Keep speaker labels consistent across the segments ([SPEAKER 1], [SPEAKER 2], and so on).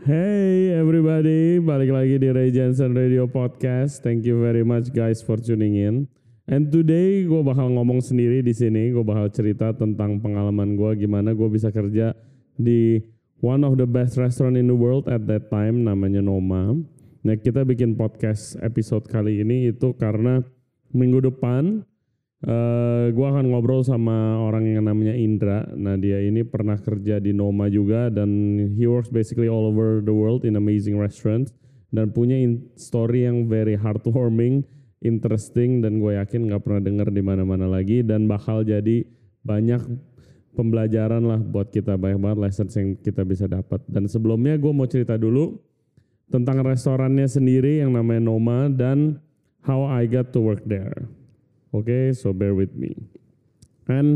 [SPEAKER 1] Hey everybody, balik lagi di Ray Jensen Radio Podcast. Thank you very much guys for tuning in. And today gue bakal ngomong sendiri di sini. Gue bakal cerita tentang pengalaman gue, gimana gue bisa kerja di one of the best restaurant in the world at that time, namanya Noma. Nah, kita bikin podcast episode kali ini itu karena minggu depan gue akan ngobrol sama orang yang namanya Indra. Nah, dia ini pernah kerja di Noma juga dan he works basically all over the world in amazing restaurants dan punya story yang very heartwarming, interesting, dan gue yakin nggak pernah denger di mana-mana lagi dan bakal jadi banyak pembelajaran lah buat kita, banyak banget lessons yang kita bisa dapat. Dan sebelumnya gue mau cerita dulu tentang restorannya sendiri yang namanya Noma dan how I got to work there. Oke, so bear with me. And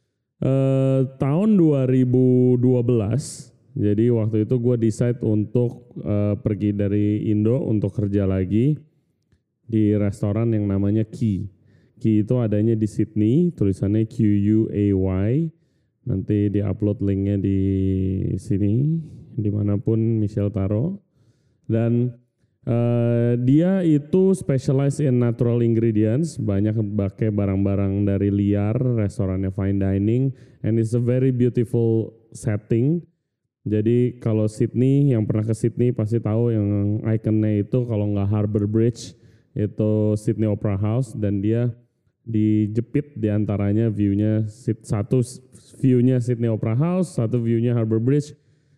[SPEAKER 1] tahun 2012, jadi waktu itu gue decide untuk pergi dari Indo untuk kerja lagi di restoran yang namanya Key. Key itu adanya di Sydney, tulisannya QUAY. Nanti di-upload linknya di sini, dimanapun Michelle taruh. Dan dia itu specialize in natural ingredients, banyak pakai barang-barang dari liar, restorannya fine dining, and it's a very beautiful setting. Jadi kalau Sydney, yang pernah ke Sydney pasti tahu yang ikonnya itu kalau nggak Harbour Bridge, itu Sydney Opera House, dan dia dijepit diantaranya view-nya, satu view-nya Sydney Opera House, satu view-nya Harbour Bridge.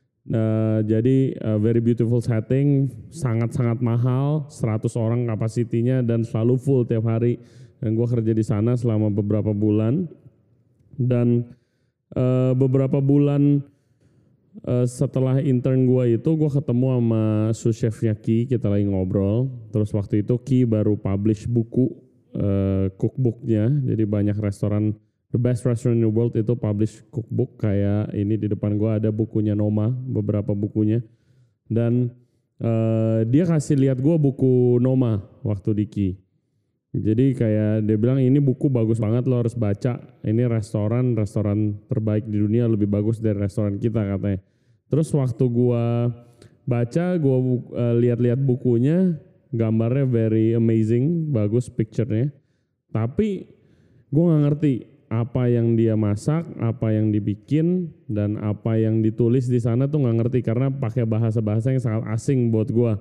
[SPEAKER 1] Jadi very beautiful setting, sangat-sangat mahal, 100 orang kapasitinya dan selalu full tiap hari. Dan gue kerja di sana selama beberapa bulan. Dan beberapa bulan setelah intern gue itu, gue ketemu sama sous chefnya Ki, kita lagi ngobrol. Terus waktu itu Ki baru publish buku cookbooknya, jadi banyak restoran The Best Restaurant in the World itu publish cookbook, kayak ini di depan gue ada bukunya Noma, beberapa bukunya. Dan dia kasih lihat gue buku Noma waktu di Key. Jadi kayak dia bilang ini buku bagus banget, lo harus baca. Ini restoran terbaik di dunia, lebih bagus dari restoran kita katanya. Terus waktu gue baca, gue lihat-lihat bukunya, gambarnya very amazing, bagus picture-nya. Tapi gue gak ngerti apa yang dia masak, apa yang dibikin, dan apa yang ditulis di sana tuh nggak ngerti karena pakai bahasa-bahasa yang sangat asing buat gue.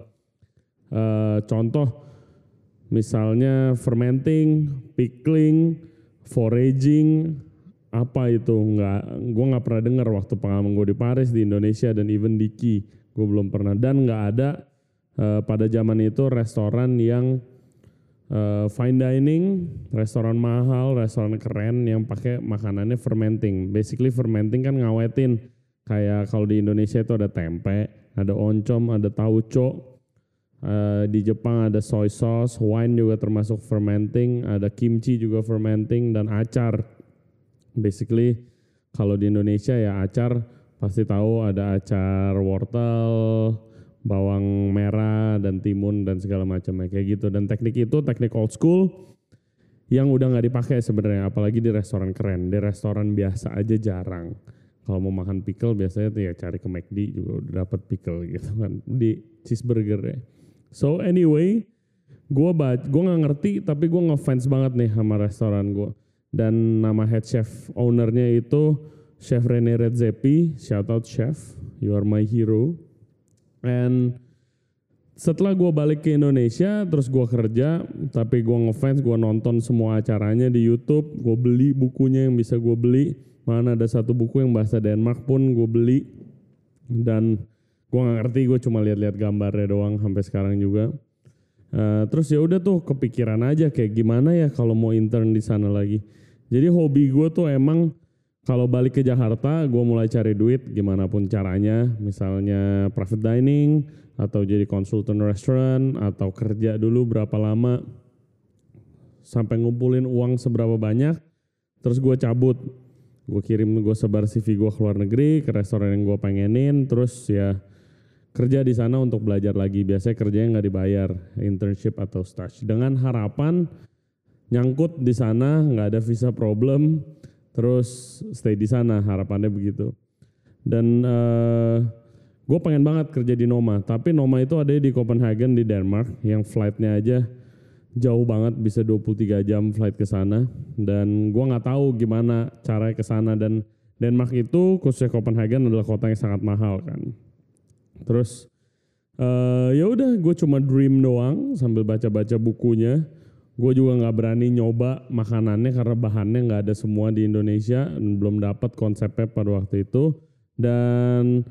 [SPEAKER 1] Contoh, misalnya fermenting, pickling, foraging, apa itu gue nggak pernah dengar waktu pengalaman gue di Paris, di Indonesia, dan even di Key, gue belum pernah. Dan nggak ada pada zaman itu restoran yang fine dining, restoran mahal, restoran keren yang pakai makanannya fermenting. Basically fermenting kan ngawetin. Kayak kalau di Indonesia itu ada tempe, ada oncom, ada tauco. Di Jepang ada soy sauce, wine juga termasuk fermenting, ada kimchi juga fermenting, dan acar. Basically kalau di Indonesia ya acar pasti tahu ada acar wortel, bawang merah dan timun dan segala macamnya kayak gitu. Dan teknik itu teknik old school yang udah nggak dipakai sebenarnya, apalagi di restoran keren. Di restoran biasa aja jarang. Kalau mau makan pickle biasanya tuh ya cari ke McD juga udah dapat pickle gitu kan di cheeseburger ya. So anyway, gue nggak ngerti tapi gue ngefans banget nih sama restoran gue. Dan nama head chef ownernya itu Chef Rene Redzepi, shout out chef, you are my hero. And setelah gue balik ke Indonesia, terus gue kerja, tapi gue ngefans, gue nonton semua acaranya di YouTube, gue beli bukunya yang bisa gue beli, mana ada satu buku yang bahasa Denmark pun gue beli, dan gue nggak ngerti, gue cuma lihat-lihat gambarnya doang sampai sekarang juga. Terus ya udah tuh kepikiran aja kayak gimana ya kalau mau intern di sana lagi. Jadi hobi gue tuh emang kalau balik ke Jakarta, gue mulai cari duit gimana pun caranya, misalnya private dining, atau jadi konsultan restoran, atau kerja dulu berapa lama, sampai ngumpulin uang seberapa banyak, terus gue cabut. Gue sebar CV gue ke luar negeri, ke restoran yang gue pengenin, terus ya kerja di sana untuk belajar lagi. Biasanya kerjanya nggak dibayar, internship atau stage. Dengan harapan nyangkut di sana, nggak ada visa problem, terus stay di sana, harapannya begitu. Dan gue pengen banget kerja di Noma, tapi Noma itu ada di Copenhagen di Denmark, yang flightnya aja jauh banget, bisa 23 jam flight ke sana, dan gue nggak tahu gimana caranya ke sana. Dan Denmark itu khususnya Copenhagen adalah kota yang sangat mahal kan. Terus ya udah, gue cuma dream doang sambil baca-baca bukunya. Gue juga nggak berani nyoba makanannya karena bahannya nggak ada semua di Indonesia, belum dapat konsepnya pada waktu itu. Dan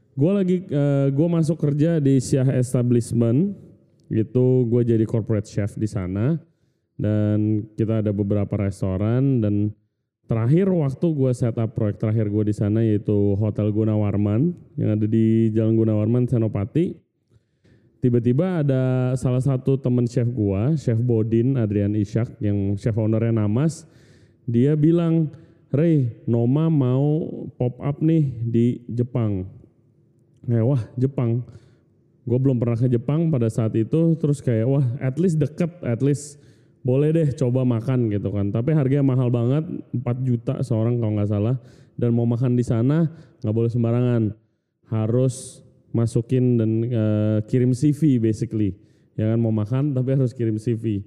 [SPEAKER 1] gue masuk kerja di Siah Establishment, gitu. Gue jadi corporate chef di sana, dan kita ada beberapa restoran. Dan terakhir waktu gue setup proyek terakhir gue di sana yaitu Hotel Gunawarman yang ada di Jalan Gunawarman Senopati. Tiba-tiba ada salah satu teman chef gua, Chef Bodin Adrian Ishak, yang chef ownernya Namas. Dia bilang, "Ray, Noma mau pop up nih di Jepang." Wah, Jepang. Gue belum pernah ke Jepang pada saat itu, terus kayak wah, at least deket, at least boleh deh coba makan gitu kan. Tapi harganya mahal banget, 4 juta seorang kalau nggak salah. Dan mau makan di sana nggak boleh sembarangan, harus masukin dan kirim CV basically, ya kan, mau makan tapi harus kirim CV.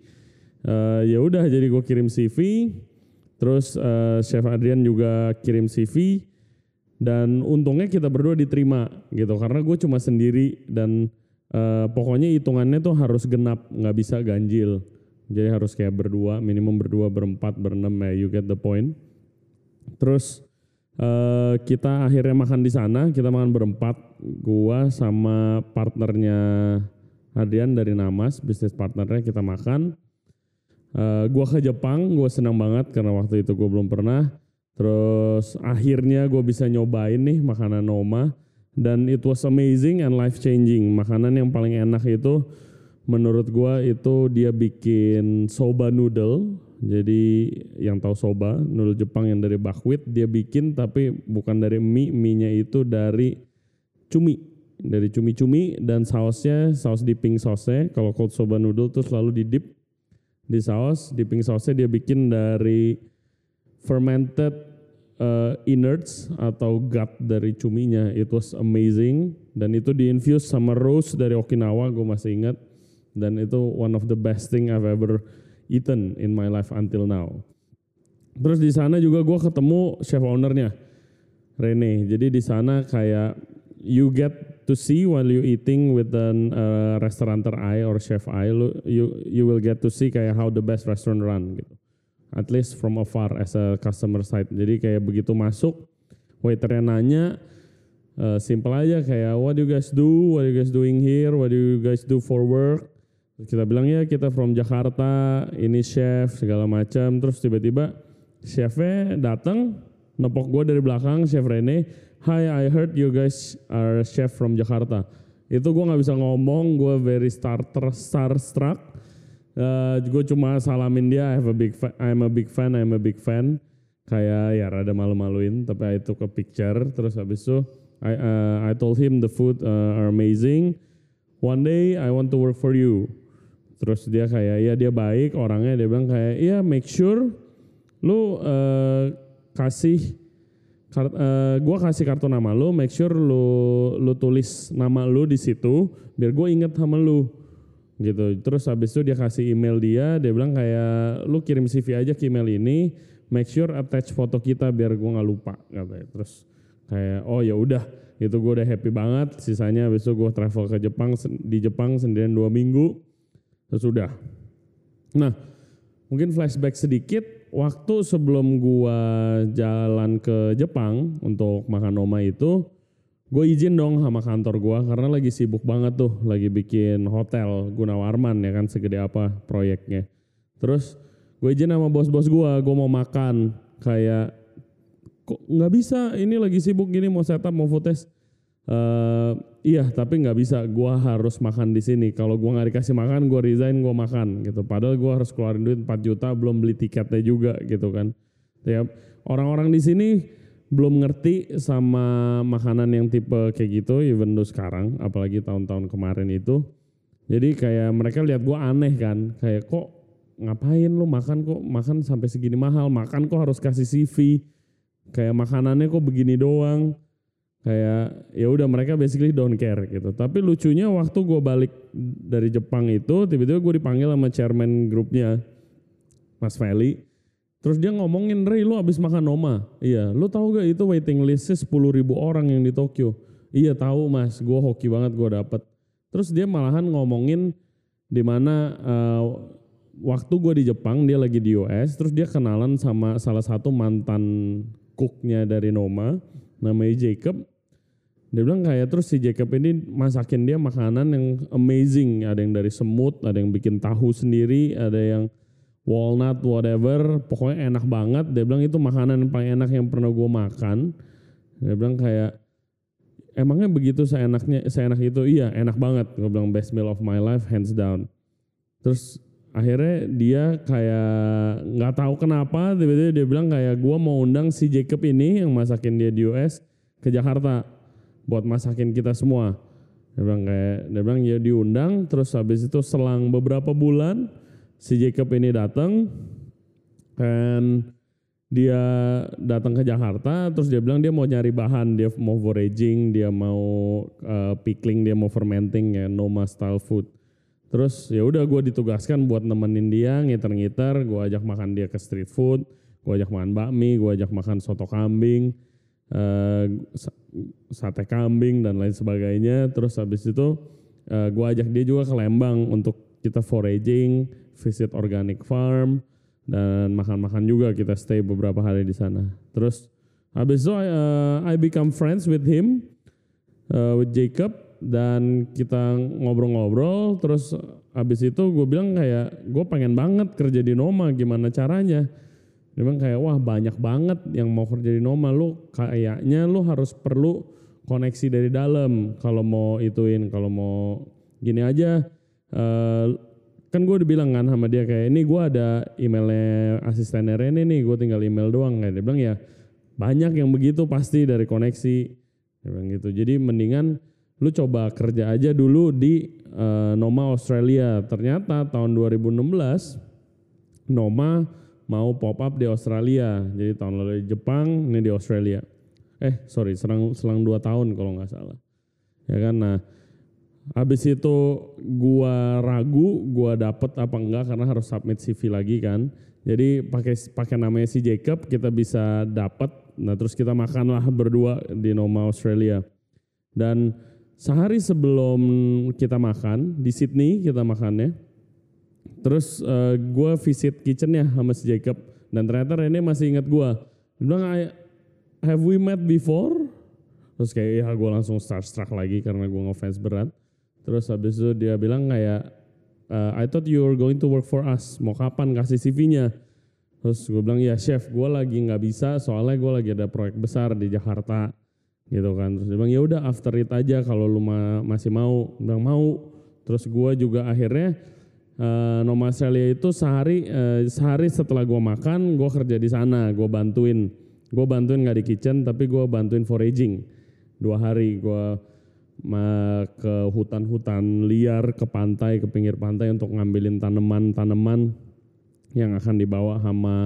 [SPEAKER 1] Ya udah, jadi gue kirim CV, terus Chef Adrian juga kirim CV, dan untungnya kita berdua diterima gitu karena gue cuma sendiri. Dan pokoknya hitungannya tuh harus genap, nggak bisa ganjil, jadi harus kayak berdua, minimum berdua, berempat, berenam, ya you get the point. Terus kita akhirnya makan di sana, kita makan berempat, gua sama partnernya Adrian dari Namas, bisnis partnernya, kita makan. Gua ke Jepang, gua senang banget karena waktu itu gua belum pernah. Terus akhirnya gua bisa nyobain nih makanan Noma, dan it was amazing and life changing. Makanan yang paling enak itu menurut gua itu dia bikin soba noodle. Jadi yang tahu soba, noodle Jepang yang dari buckwheat, dia bikin tapi bukan dari mie-nya itu dari cumi. Dari cumi-cumi, dan sausnya, saus dipping sausnya, kalau cold soba noodle tuh selalu didip di saus. Dipping sausnya dia bikin dari fermented innards atau gut dari cuminya. It was amazing, dan itu di-infuse sama rose dari Okinawa, gue masih ingat. Dan itu one of the best thing I've ever eaten in my life until now. Terus di sana juga gue ketemu chef ownernya, Rene. Jadi di sana kayak you get to see while you eating with an restaurateur eye or chef eye, you will get to see kayak how the best restaurant run gitu. At least from afar as a customer side. Jadi kayak begitu masuk, waiternya nanya, simple aja kayak what do you guys do, what are you guys doing here, what do you guys do for work. Kita bilang ya kita from Jakarta, ini chef segala macam. Terus tiba-tiba chefnya datang, nepok gue dari belakang, Chef Rene. "Hi, I heard you guys are chef from Jakarta." Itu gue nggak bisa ngomong, gue very starstruck. Gue cuma salamin dia, I'm a big fan. Kayak ya rada malu-maluin, tapi I took a picture. Terus habis itu I told him the food are amazing. One day I want to work for you. Terus dia kayak, ya dia baik orangnya, dia bilang kayak, ya make sure lu gue kasih kartu nama lu, make sure lu tulis nama lu di situ, biar gue inget sama lu, gitu. Terus habis itu dia kasih email dia bilang kayak, lu kirim CV aja ke email ini, make sure attach foto kita biar gue nggak lupa, katanya. Terus kayak, oh ya udah, itu gue udah happy banget. Sisanya habis itu gue travel ke Jepang, di Jepang sendirian 2 minggu. Terus udah. Nah, mungkin flashback sedikit, waktu sebelum gua jalan ke Jepang untuk makan Noma itu, gue izin dong sama kantor gua karena lagi sibuk banget tuh, lagi bikin hotel Gunawarman ya kan, segede apa proyeknya. Terus gue izin sama bos-bos gua mau makan, kayak kok nggak bisa, ini lagi sibuk gini, mau setup, mau footage. Iya, tapi nggak bisa, gue harus makan di sini. Kalau gue nggak dikasih makan, gue resign, gue makan gitu. Padahal gue harus keluarin duit 4 juta, belum beli tiketnya juga gitu kan. Ya, orang-orang di sini belum ngerti sama makanan yang tipe kayak gitu, even though sekarang, apalagi tahun-tahun kemarin itu. Jadi kayak mereka lihat gue aneh kan, kayak kok ngapain lu makan, kok makan sampai segini mahal, makan kok harus kasih CV, kayak makanannya kok begini doang. Kayak ya udah mereka basically don't care gitu. Tapi lucunya waktu gue balik dari Jepang itu tiba-tiba gue dipanggil sama chairman grupnya Mas Feli. Terus dia ngomongin, Ray lu abis makan Noma. Iya, lu tahu gak itu waiting listnya 10.000 orang yang di Tokyo. Iya tahu mas, gue hoki banget gue dapet. Terus dia malahan ngomongin di mana waktu gue di Jepang dia lagi di US. Terus dia kenalan sama salah satu mantan cooknya dari Noma, namanya Jacob. Dia bilang kayak terus si Jacob ini masakin dia makanan yang amazing. Ada yang dari semut, ada yang bikin tahu sendiri, ada yang walnut whatever. Pokoknya enak banget. Dia bilang itu makanan yang paling enak yang pernah gue makan. Dia bilang kayak emangnya begitu seenak itu? Iya enak banget. Gue bilang best meal of my life hands down. Terus akhirnya dia kayak nggak tahu kenapa tiba-tiba dia bilang kayak gue mau undang si Jacob ini yang masakin dia di US ke Jakarta buat masakin kita semua. Dia bilang ya diundang. Terus habis itu selang beberapa bulan si Jacob ini datang dan dia datang ke Jakarta. Terus dia bilang dia mau nyari bahan, dia mau foraging, dia mau pickling, dia mau fermenting ya Noma style food. Terus ya udah gue ditugaskan buat nemenin dia ngiter-ngiter. Gue ajak makan dia ke street food, gue ajak makan bakmi, gue ajak makan soto kambing, sate kambing dan lain sebagainya. Terus habis itu gue ajak dia juga ke Lembang untuk kita foraging, visit organic farm dan makan-makan juga, kita stay beberapa hari di sana. Terus habis itu I become friends with him, with Jacob, dan kita ngobrol-ngobrol. Terus habis itu gue bilang kayak gue pengen banget kerja di Noma, gimana caranya? Dia bilang kayak wah banyak banget yang mau kerja di Noma, lu kayaknya lu harus perlu koneksi dari dalam kalau mau ituin, kalau mau gini aja. Kan gue udah bilang kan sama dia kayak ini gue ada emailnya asistennya Rene nih, gue tinggal email doang. Kayak dia bilang ya banyak yang begitu pasti dari koneksi. Dia bilang gitu. Jadi mendingan lu coba kerja aja dulu di Noma Australia. Ternyata tahun 2016 Noma mau pop up di Australia. Jadi tahun lalu di Jepang, ini di Australia. Selang 2 tahun kalau nggak salah. Ya kan, nah habis itu gua ragu, gua dapet apa enggak karena harus submit CV lagi kan. Jadi pakai namanya si Jacob kita bisa dapat. Nah terus kita makanlah berdua di Noma Australia. Dan sehari sebelum kita makan di Sydney kita makannya. Terus gue visit kitchennya sama si Jacob dan ternyata Rene masih ingat gue. Dia bilang, have we met before? Terus kayak ya gue langsung starstruck lagi karena gue ngefans berat. Terus habis itu dia bilang kayak, I thought you were going to work for us. Mau kapan kasih CV-nya? Terus gue bilang ya chef, gue lagi nggak bisa soalnya gue lagi ada proyek besar di Jakarta gitu kan. Terus dia bilang ya udah after it aja kalau lu masih mau. Dia bilang mau. Terus gue juga akhirnya Noma Australia itu sehari setelah gue makan, gue kerja di sana, gue bantuin nggak di kitchen tapi gue bantuin foraging 2 hari. Gue ke hutan-hutan liar, ke pantai, ke pinggir pantai untuk ngambilin tanaman-tanaman yang akan dibawa sama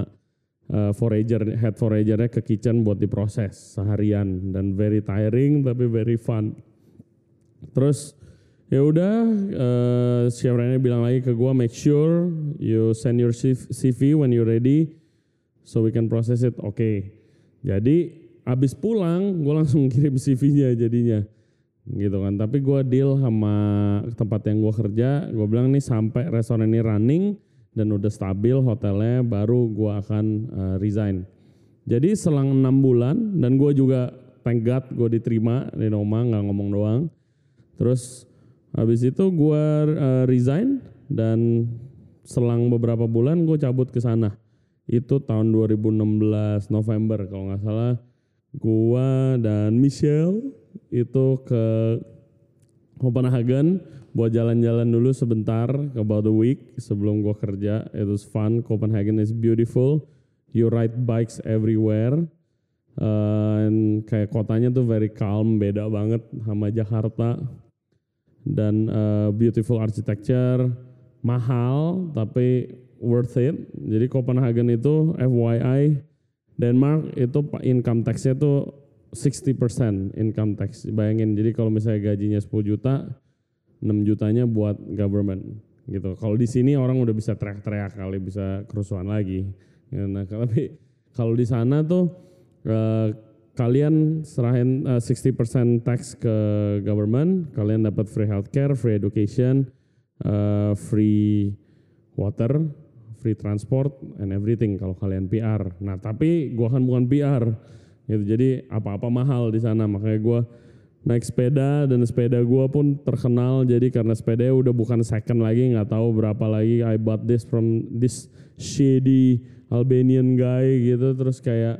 [SPEAKER 1] head foragernya ke kitchen buat diproses seharian dan very tiring tapi very fun. Terus ya udah, Chef Rene bilang lagi ke gue, make sure you send your CV when you're ready so we can process it. Oke. Jadi abis pulang gue langsung kirim CV-nya jadinya gitu kan. Tapi gue deal sama tempat yang gue kerja, gue bilang nih sampai restoran ini running dan udah stabil hotelnya baru gue akan resign. Jadi selang 6 bulan dan gue juga thank God gue diterima di Noma, gak ngomong doang. Terus habis itu gue resign dan selang beberapa bulan gue cabut ke sana. Itu tahun 2016 November kalau nggak salah. Gue dan Michelle itu ke Copenhagen buat jalan-jalan dulu sebentar, about a week sebelum gue kerja. It was fun. Copenhagen is beautiful. You ride bikes everywhere. And kayak kotanya tuh very calm, beda banget sama Jakarta. Dan beautiful architecture, mahal tapi worth it. Jadi Copenhagen itu FYI, Denmark itu income tax-nya tuh 60% income tax. Bayangin, jadi kalau misalnya gajinya 10 juta, 6 jutanya buat government gitu. Kalau di sini orang udah bisa teriak-teriak kali, bisa kerusuhan lagi. Nah, tapi kalau di sana tuh kalian serahin 60% tax ke government, kalian dapat free healthcare, free education, free water, free transport and everything kalau kalian PR. Nah, tapi gua kan bukan PR gitu. Jadi apa-apa mahal di sana, makanya gua naik sepeda dan sepeda gua pun terkenal. Jadi karena sepedanya udah bukan second lagi, nggak tahu berapa lagi. I bought this from this shady Albanian guy gitu. Terus kayak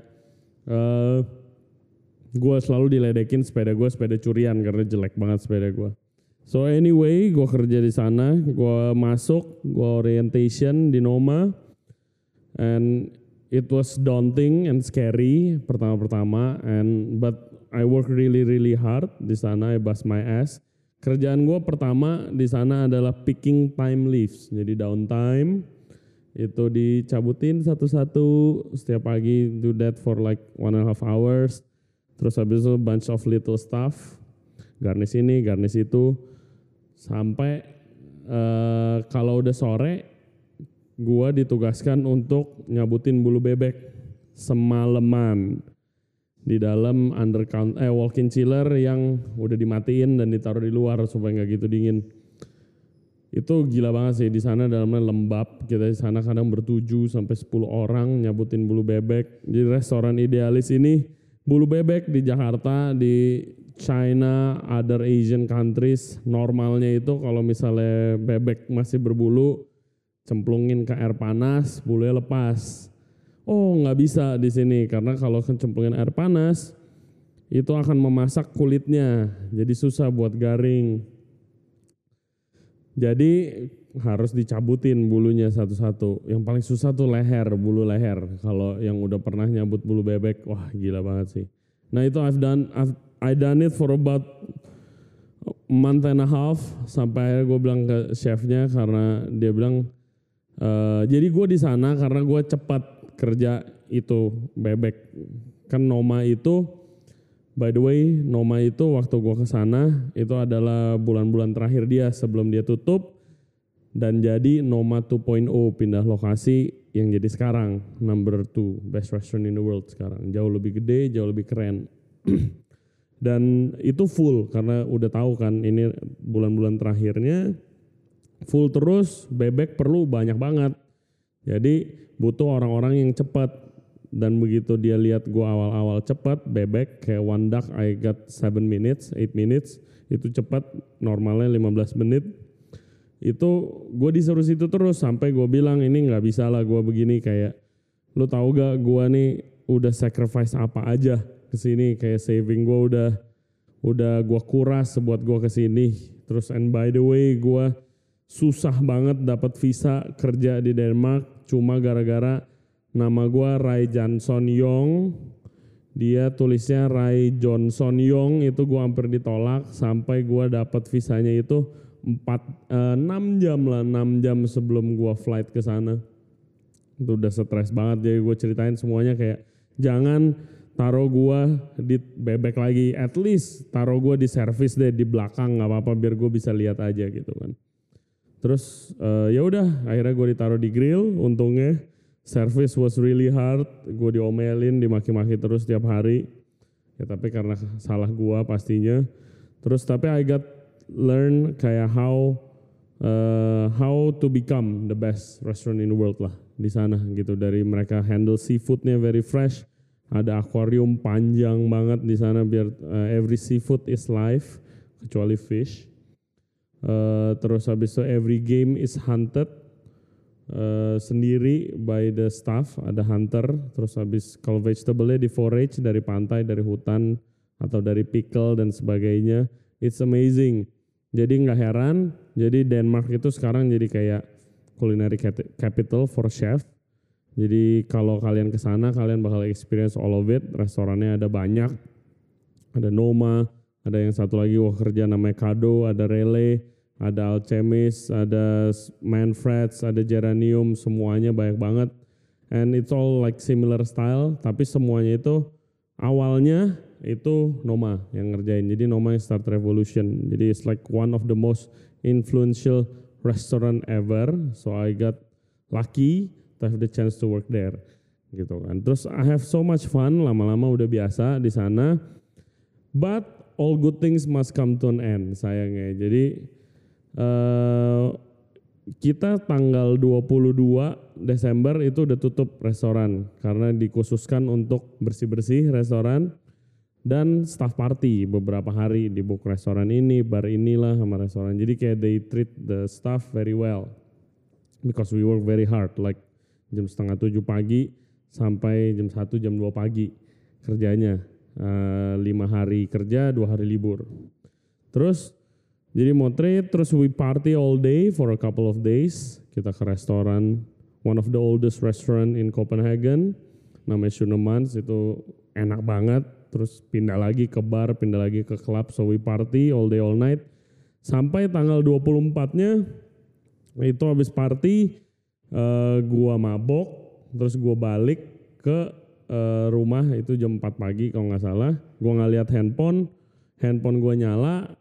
[SPEAKER 1] gue selalu diledekin sepeda gue sepeda curian karena jelek banget sepeda gue. So anyway, gue kerja di sana, gue masuk, gue orientation di Noma, and it was daunting and scary pertama-pertama, but I work really hard di sana. I bust my ass. Kerjaan gue pertama di sana adalah picking time leaves, jadi downtime itu dicabutin satu-satu setiap pagi, do that for like 1.5 hours. Terus habis itu bunch of little stuff, garnish ini, garnish itu, sampai kalau udah sore, gua ditugaskan untuk nyabutin bulu bebek semalaman di dalam walk-in chiller yang udah dimatiin dan ditaruh di luar supaya nggak gitu dingin. Itu gila banget sih, di sana dalamnya lembab. Kita di sana kadang 7-10 orang nyabutin bulu bebek. Di restoran idealis ini bulu bebek di Jakarta, di China, other Asian countries, normalnya itu kalau misalnya bebek masih berbulu, cemplungin ke air panas, bulunya lepas. Oh, nggak bisa di sini karena kalau cemplungin air panas itu akan memasak kulitnya, jadi susah buat garing. Jadi harus dicabutin bulunya satu-satu. Yang paling susah tuh leher, bulu leher. Kalau yang udah pernah nyabut bulu bebek, wah gila banget sih. Nah itu I done it for about a month and a half, sampai akhirnya gue bilang ke chefnya karena dia bilang, jadi gue di sana karena gue cepat kerja itu bebek. Kan Noma itu, by the way, Noma itu waktu gue kesana itu adalah bulan-bulan terakhir dia sebelum dia tutup dan jadi Noma 2.0, pindah lokasi yang jadi sekarang number 2 best restaurant in the world sekarang. Jauh lebih gede, jauh lebih keren. Dan itu full karena udah tahu kan ini bulan-bulan terakhirnya full terus, bebek perlu banyak banget. Jadi butuh orang-orang yang cepat. Dan begitu dia lihat gua awal-awal cepat, bebek kayak one duck I got 7 minutes, 8 minutes, itu cepat, normalnya 15 menit. Itu gua disuruh situ terus sampai gua bilang ini nggak bisa lah gua begini, kayak lu tahu gak gua nih udah sacrifice apa aja kesini, kayak saving gua udah gua kuras buat gua kesini. Terus and by the way gua susah banget dapat visa kerja di Denmark cuma gara-gara nama gue Ray Johnson Yong, dia tulisnya Ray Johnson Yong, itu gue hampir ditolak sampai gue dapat visanya itu 6 jam sebelum gue flight ke sana. Itu udah stres banget, jadi gue ceritain semuanya kayak jangan taruh gue di bebek lagi, at least taruh gue di service deh di belakang, nggak apa-apa biar gue bisa lihat aja gitu kan. Terus ya udah akhirnya gue ditaruh di grill, untungnya. Service was really hard, gue diomelin, dimaki-maki terus tiap hari. Ya tapi karena salah gue pastinya. Terus tapi I got learn kayak how to become the best restaurant in the world lah di sana gitu. Dari mereka handle seafoodnya very fresh, ada akuarium panjang banget di sana biar every seafood is live kecuali fish. Terus habis itu every game is hunted. Sendiri by the staff, ada hunter. Terus habis kalau vegetable-nya di forage dari pantai, dari hutan atau dari pickle dan sebagainya. It's amazing. Jadi nggak heran, jadi Denmark itu sekarang jadi kayak culinary capital for chef. Jadi kalau kalian ke sana kalian bakal experience all of it. Restorannya ada banyak. Ada Noma, ada yang satu lagi gua kerja namanya Kado, ada Relay, ada Alchemist, ada Manfreds, ada Geranium, semuanya banyak banget. And it's all like similar style, tapi semuanya itu awalnya itu Noma yang ngerjain. Jadi Noma yang start revolution. Jadi it's like one of the most influential restaurant ever. So I got lucky to have the chance to work there. Gitu kan. Terus I have so much fun, lama-lama udah biasa di sana. But all good things must come to an end, sayangnya. Jadi kita tanggal 22 Desember itu udah tutup restoran karena dikhususkan untuk bersih-bersih restoran dan staff party beberapa hari di book restoran ini, bar inilah sama restoran. Jadi kayak they treat the staff very well because we work very hard, like jam 6:30 pagi sampai jam 1 jam 2 pagi kerjanya, 5 hari kerja 2 hari libur. Terus jadi mau treat, terus we party all day for a couple of days. Kita ke restoran, one of the oldest restaurant in Copenhagen, namanya Schønnemanns, itu enak banget. Terus pindah lagi ke bar, pindah lagi ke club, so we party all day all night. Sampai tanggal 24-nya, itu habis party, gua mabok, terus gua balik ke rumah itu jam 4 pagi kalau nggak salah. Gua nggak lihat handphone gua nyala.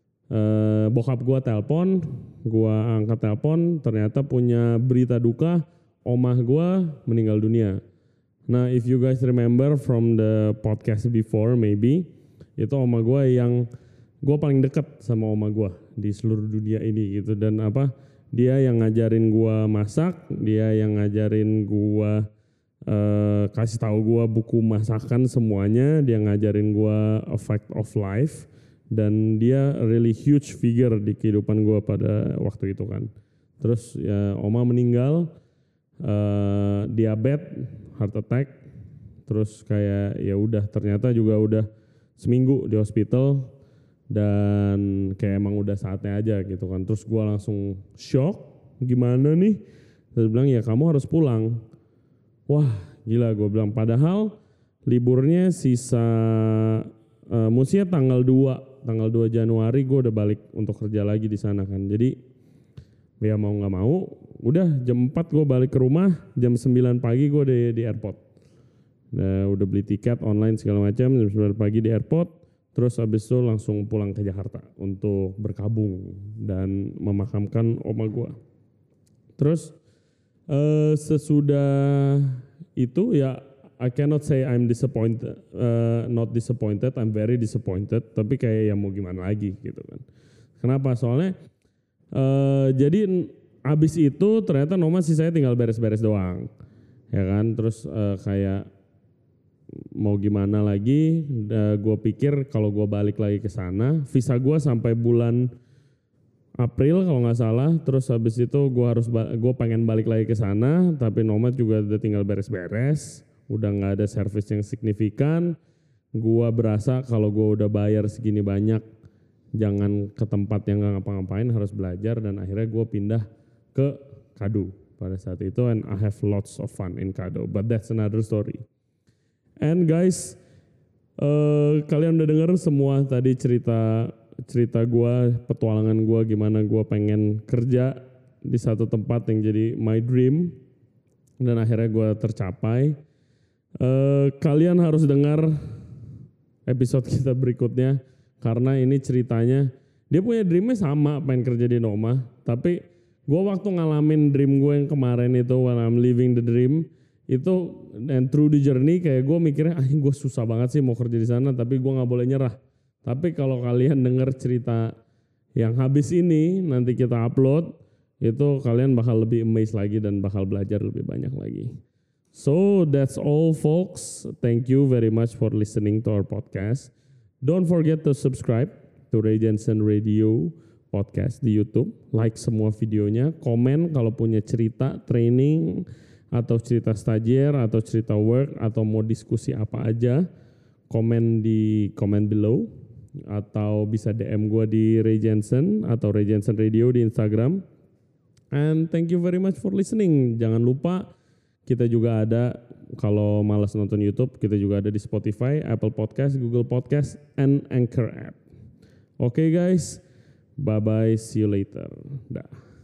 [SPEAKER 1] Bokap gua telepon, gua angkat telepon, ternyata punya berita duka, omah gua meninggal dunia. Nah, if you guys remember from the podcast before maybe, itu omah gua yang gua paling dekat sama omah gua di seluruh dunia ini gitu. Dan dia yang ngajarin gua masak, dia yang ngajarin gua kasih tahu gua buku masakan semuanya, dia ngajarin gua A Fact of Life. Dan dia really huge figure di kehidupan gue pada waktu itu kan. Terus ya oma meninggal, diabetes, heart attack. Terus kayak ya udah ternyata juga udah seminggu di hospital dan kayak emang udah saatnya aja gitu kan. Terus gue langsung shock, gimana nih? Terus bilang ya kamu harus pulang. Wah gila gue bilang, padahal liburnya sisa mestinya tanggal 2 Januari gue udah balik untuk kerja lagi di sana kan. Jadi ya mau nggak mau, udah jam 4 gue balik ke rumah, jam 9 pagi gue di airport. Nah, udah beli tiket online segala macam, jam 9 pagi di airport. Terus habis itu langsung pulang ke Jakarta untuk berkabung dan memakamkan oma gue. Terus sesudah itu ya I cannot say I'm disappointed, not disappointed, I'm very disappointed. Tapi kayak ya mau gimana lagi gitu kan. Kenapa? Soalnya jadi abis itu ternyata Noma sih saya tinggal beres-beres doang, ya kan. Terus kayak mau gimana lagi? Gue pikir kalau gue balik lagi ke sana, visa gue sampai bulan April kalau nggak salah. Terus habis itu gue pengen balik lagi ke sana, tapi Noma juga udah tinggal beres-beres. Udah nggak ada service yang signifikan. Gua berasa kalau gua udah bayar segini banyak, jangan ke tempat yang nggak ngapa-ngapain, harus belajar. Dan akhirnya gua pindah ke Kado pada saat itu, and I have lots of fun in Kado, but that's another story. And guys, kalian udah denger semua tadi cerita gua, petualangan gua, gimana gua pengen kerja di satu tempat yang jadi my dream, dan akhirnya gua tercapai. Kalian harus dengar episode kita berikutnya karena ini ceritanya dia punya dreamnya sama, pengen kerja di Noma, tapi gue waktu ngalamin dream gue yang kemarin itu, when I'm living the dream itu, and through the journey kayak gue mikirnya gue susah banget sih mau kerja di sana, tapi gue nggak boleh nyerah. Tapi kalau kalian dengar cerita yang habis ini nanti kita upload, itu kalian bakal lebih amazed lagi dan bakal belajar lebih banyak lagi. So that's all folks. Thank you very much for listening to our podcast. Don't forget to subscribe to Ray Jensen Radio Podcast di YouTube. Like semua videonya, komen kalau punya cerita training atau cerita stagiaire atau cerita work atau mau diskusi apa aja, komen di comment below atau bisa DM gue di Ray Jensen atau Ray Jensen Radio di Instagram. And thank you very much for listening. Jangan lupa kita juga ada, kalau malas nonton YouTube, kita juga ada di Spotify, Apple Podcast, Google Podcast, and Anchor app. Okay guys, bye-bye, see you later. Dah.